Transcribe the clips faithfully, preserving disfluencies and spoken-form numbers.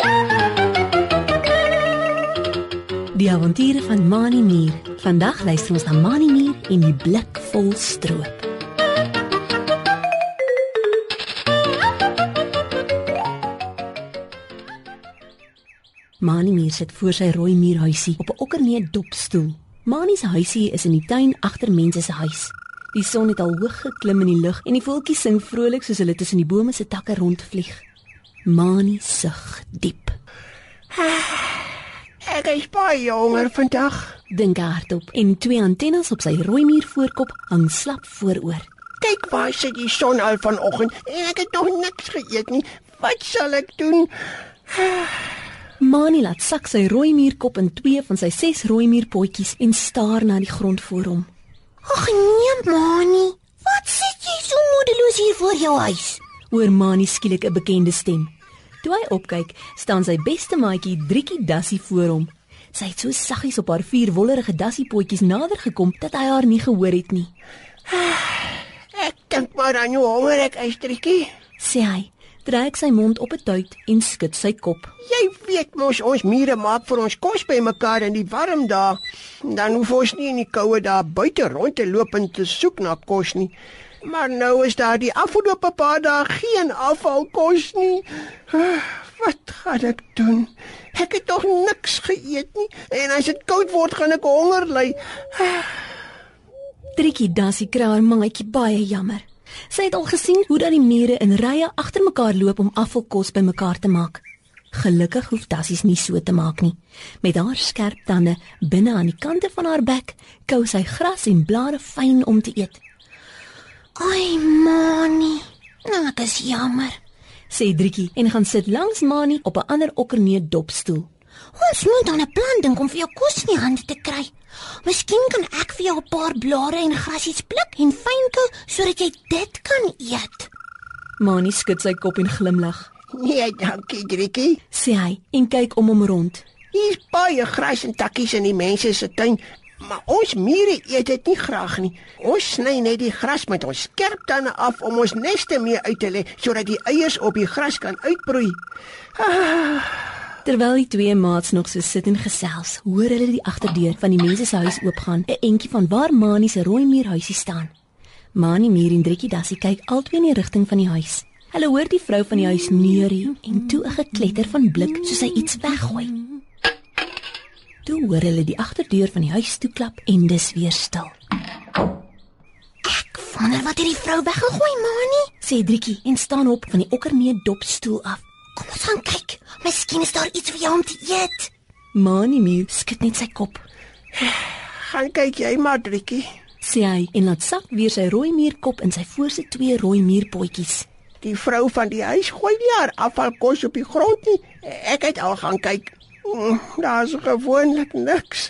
Die avonture van Mani Mier. Vandag luister ons na Mani Mier en die blik vol stroop. Mani Mier sit voor sy rooi muurhuisie op 'n okkerneet dopstoel. Mani se huisie is in die tuin agter mense se huis. Die son het al hoog geklim in die lug en die voeltjies sing vrolik soos hulle tussen die bome se takke rondvlieg. Mani sug diep. Ek is baie honger vandag, Dink hy hardop en twee antennes op sy rooi muur voorkop hang slap vooroor. Kyk waar sit die son al vanoggend en ek het nog niks geëet nie. Wat sal ek doen? Mani laat sak sy rooi muurkop in twee van sy ses rooi muurpotjies en staar na die grond voor hom. Ag nee, Mani, wat sit jy so moedeloos hier voor jou huis? Hoor Mani skielik 'n bekende stem. Toe hy opkyk, staan sy beste maatjie Driekie Dassie voor hom. Sy het so saggies op haar vier wollerige dassiepotjies nader gekom dat hy haar nie gehoor het nie. Ek dink maar aan jou honger ek is, Driekie. Sê hy, trek sy mond op 'n tuit en skud sy kop. Jy weet mos ons mure maak vir ons kos by mekaar in die warm dae. Dan hoef ons nie in die koue dae buite rond te loop en te soek na kos nie. Maar nou is daar die afgelope paar dae geen afvalkos nie. Wat gaan ek doen? Ek het tog niks geëet nie en as dit koud word gaan ek honger ly. Driekie Dassie kry haar maatjie baie jammer. Sy het al gesien hoe dat die mure in rye agter mekaar loop om afvalkos by mekaar te maak. Gelukkig hoef Dassies nie so te maak nie. Met haar skerp tande binne aan die kante van haar bek, kou sy gras en blare fyn om te eet. Ai, Mani, nou ek is jammer. Sê Driekie en gaan sit langs Mani op 'n ander okkerneet dopstoel. Ons moet aan 'n plan dink om vir jou kos in die hande te kry. Miskien kan ek vir jou 'n paar blare en grasies pluk en fyn kou sodat jy dit kan eet. Mani skud sy kop en glimlag. Nee, dankie Driekie. Sê hy en kyk om hom rond. Hier's baie gras en takkies in die mense se tuin, maar ons mure eet dit nie graag nie. Ons sny net die gras met ons skerp tande af om ons neste mee uit te lê sodat die eiers op die gras kan uitbroei. Ah. Terwyl die twee maats nog so sit en gesels, hoor hulle die agterdeur van die mense se huis oopgaan, 'n entjie van waar Mani se rooi muurhuisie staan. Mani Mier en Driekie Dassie kyk albei in die rigting van die huis. Hulle hoor die vrou van die huis neurie en toe 'n gekletter van blik soos sy iets weggooi. Toe hoor hulle die agterdeur van die huis toeklap en dis weer stil. Ek wonder wat het die vrou weggegooi, Mani? Sê Driekie en staan op van die okkerneet dopstoel af. Kom ons gaan kyk. Miskien is daar iets vir jou om te eet. Mani Mier skud net sy kop. Gaan kyk jy maar, Driekie. Sê hy en laat sak weer sy rooi muurkop in sy voorste twee rooi muurpotjies. Die vrou van die huis gooi nie haar afvalkos op die grond nie. Ek het al gaan kyk. Daar's gewoonlik niks.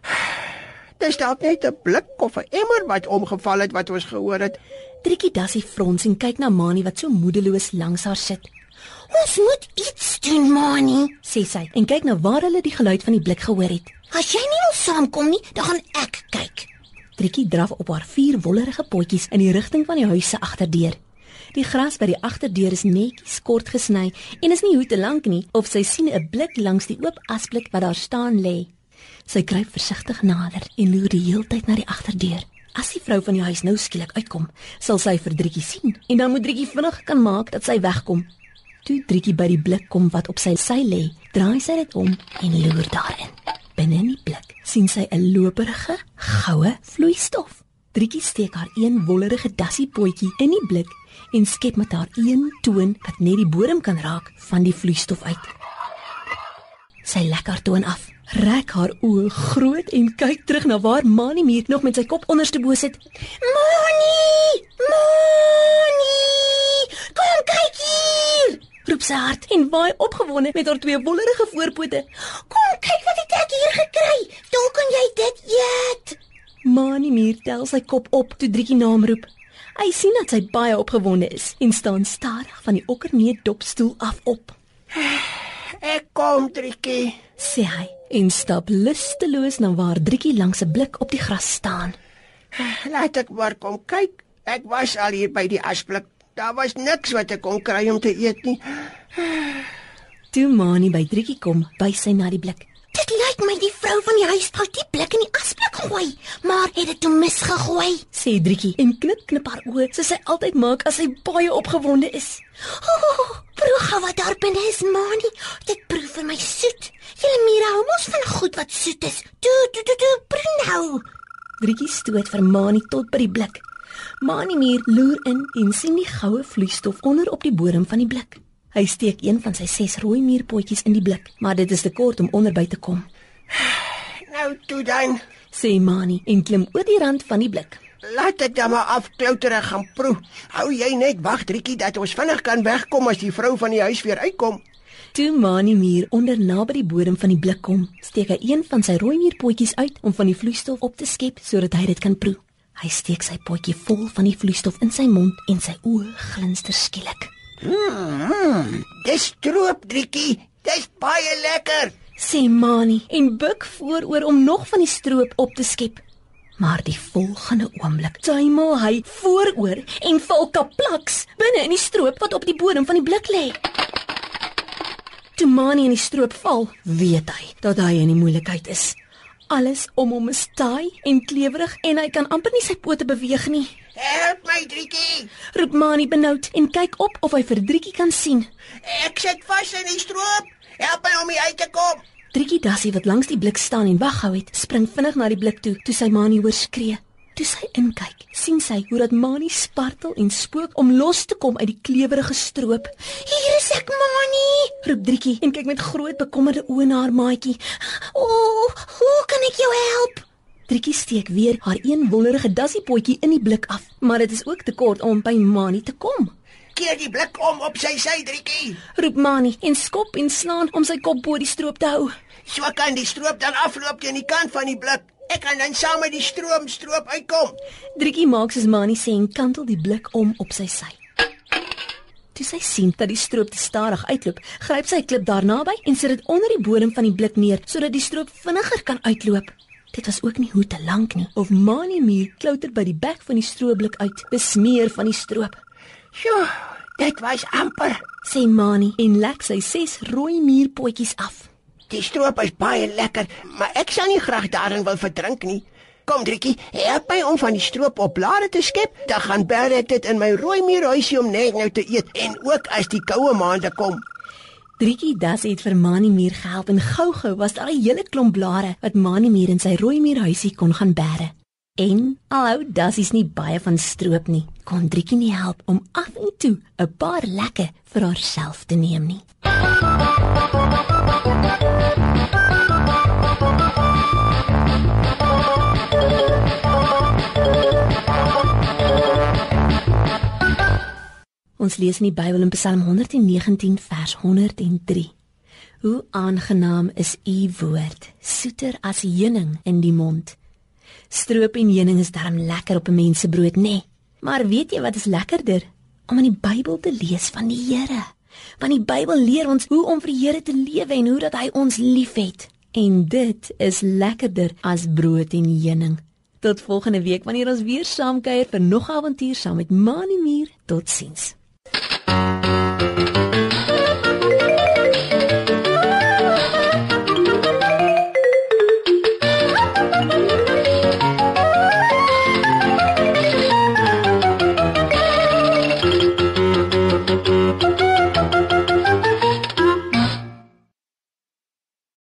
Dis dalk net 'n blik of 'n emmer wat omgeval het wat ons gehoor het. Driekie Dassie frons en kyk na Mani wat so moedeloos langs haar sit. Ons moet iets doen, Mani, Sê sy en kyk na waar hulle die geluid van die blik gehoor het. As jy nie wil saamkom nie, dan gaan ek kyk. Driekie draf op haar vier wollerige potjies in die rigting van die huis se agterdeur. Die gras by die agterdeur is netjies kort gesny en is nie hoe te lank nie of sy sien 'n blik langs die oop asblik wat daar staan lê. Sy kruip versigtig nader en loer die heeltyd na die agterdeur. As die vrou van die huis nou skielik uitkom, sal sy vir Driekie sien en dan moet Driekie vinnig kan maak dat sy wegkom. Toe Driekie by die blik kom wat op sy sy lê, draai sy dit om en loer daarin. Binne in die blik sien sy 'n loperige, goue vloeistof. Driekie steek haar een wollerige dassiepotjie in die blik en skep met haar een toon wat net die bodem kan raak van die vloeistof uit. Sy lek haar toon af, rek haar oë groot en kyk terug na waar Mani Mier nog met sy kop onderstebo sit. Mani! Mani! Kom kyk hier! Roep sy hard en waai opgewonde met haar twee wollerige voorpote. Kom kyk wat het ek hier gekry. Dalk kan jy dit eet. Mani Mier tel sy kop op toe Driekie naam roep. Hy sien dat sy baie opgewonde is en staan stadig van die okkerneet dopstoel af op. Ek kom, Driekie, Sê hy en stap lusteloos na waar Driekie langs 'n blik op die gras staan. Laat ek maar kom kyk. Ek was al hier by die asblik. Daar was niks wat ek kon kry om te eet nie. Toe Mani by Driekie kom, wys sy na die blik. Dit lyk my die vrou van die huis wou die blik in die asblik gooi, maar het dit toe misgegooi. Sê Driekie en knip knip haar oë, soos sy altyd maak as sy baie opgewonde is. Oh, proe gou wat daar binne is, Mani. Dit proe vir my soet. Julle Mira hou mos van goed wat soet is. Toe, toe, toe, toe, proe nou. Driekie stoot vir Mani tot by die blik. Mani Mier loer in en sien die goue vloeistof onder op die bodem van die blik. Hy steek een van sy ses rooi mierpotjies in die blik, maar dit is te kort om onderby te kom. Nou toe dan, Sê Mani en klim oor die rand van die blik. laat dit dan maar afklouter en gaan proe. Hou jy net wag, Driekie, dat ons vinnig kan wegkom as die vrou van die huis weer uitkom. Toe Mani Mier onder naby die bodem van die blik kom, steek hy een van sy rooi mierpotjies uit om van die vloeistof op te skep sodat hy dit kan proe. Hy steek sy potjie vol van die vloeistof in sy mond en sy oë glinster skielik. Mm, dis stroop, Driekie. Dis baie lekker. Sê Mani en buig vooroor om nog van die stroop op te skep. Maar die volgende oomblik tuimel hy vooroor en val kaplaks binne in die stroop wat op die bodem van die blik lê. Toe Mani in die stroop val, weet hy dat hy in die moeilikheid is. Alles om hom is taai en klewerig en hy kan amper nie sy pote beweeg nie. Help my, Driekie. Roep Mani benoud en kyk op of hy vir Driekie kan sien. Ek sit vas in die stroop. Help my om hier uit te kom. Driekie Dassie wat langs die blik staan en waghou het, spring vinnig na die blik toe toe sy Mani hoor skree. Toe sy inkyk, sien sy hoe dat Mani spartel en spook om los te kom uit die klewerige stroop. Hier is ek, Mani. Roep Driekie en kyk met groot bekommerde oë na haar maatjie. O, oh, hoe kan ek jou help? Driekie steek weer haar een wollerige dassiepotjie in die blik af, maar dit is ook te kort om by Mani te kom. Keer die blik om op sy sy, Driekie. Roep Mani en skop en slaan om sy kop bo die stroop te hou. So kan die stroop dan afloop teen die kant van die blik. Ek kan dan saam met die stroom stroop uitkom. Driekie maak soos Mani sê en kantel die blik om op sy sy. Toe sy sien dat die stroop te stadig uitloop, gryp sy 'n klip daar naby en sit dit onder die bodem van die blik neer sodat die stroop vinniger kan uitloop. Dit was ook nie hoe te lank nie of Mani Mier klouter by die bek van die strooblik uit, besmeer van die stroop. Sjoe, dit was amper. Sê Mani en lek sy ses rooi mierpotjies af. Die stroop is baie lekker, maar ek sal nie graag daarin wil verdrink nie. Kom, Driekie, help my om van die stroop op blare te skep, dan gaan bere ek dit in my rooi mierhuisie om net nou te eet en ook as die koue maande kom. Driekie Dassie het vir Mani Mier gehelp en gou-gou was daar 'n hele klomp blare wat Mani Mier in sy rooi mierhuisie kon gaan bære. En alhou Dassie's nie baie van stroop nie, kon Driekie nie help om af en toe 'n paar lekke vir haarself te neem nie. Ons lees in die Bybel in Psalm honderd negentien vers honderd drie. Hoe aangenaam is u woord, soeter as heuning in die mond. Stroop en heuning is darm lekker op 'n mens se brood, nê? Nee. Maar weet jy wat is lekkerder? Om in die Bybel te lees van die Here. Want die Bybel leer ons hoe om vir die Here te lewe en hoe dat hy ons liefhet. En dit is lekkerder as brood en heuning. Tot volgende week wanneer ons weer saam kuier vir nog 'n avontuur saam met Mani Mier. Totsiens.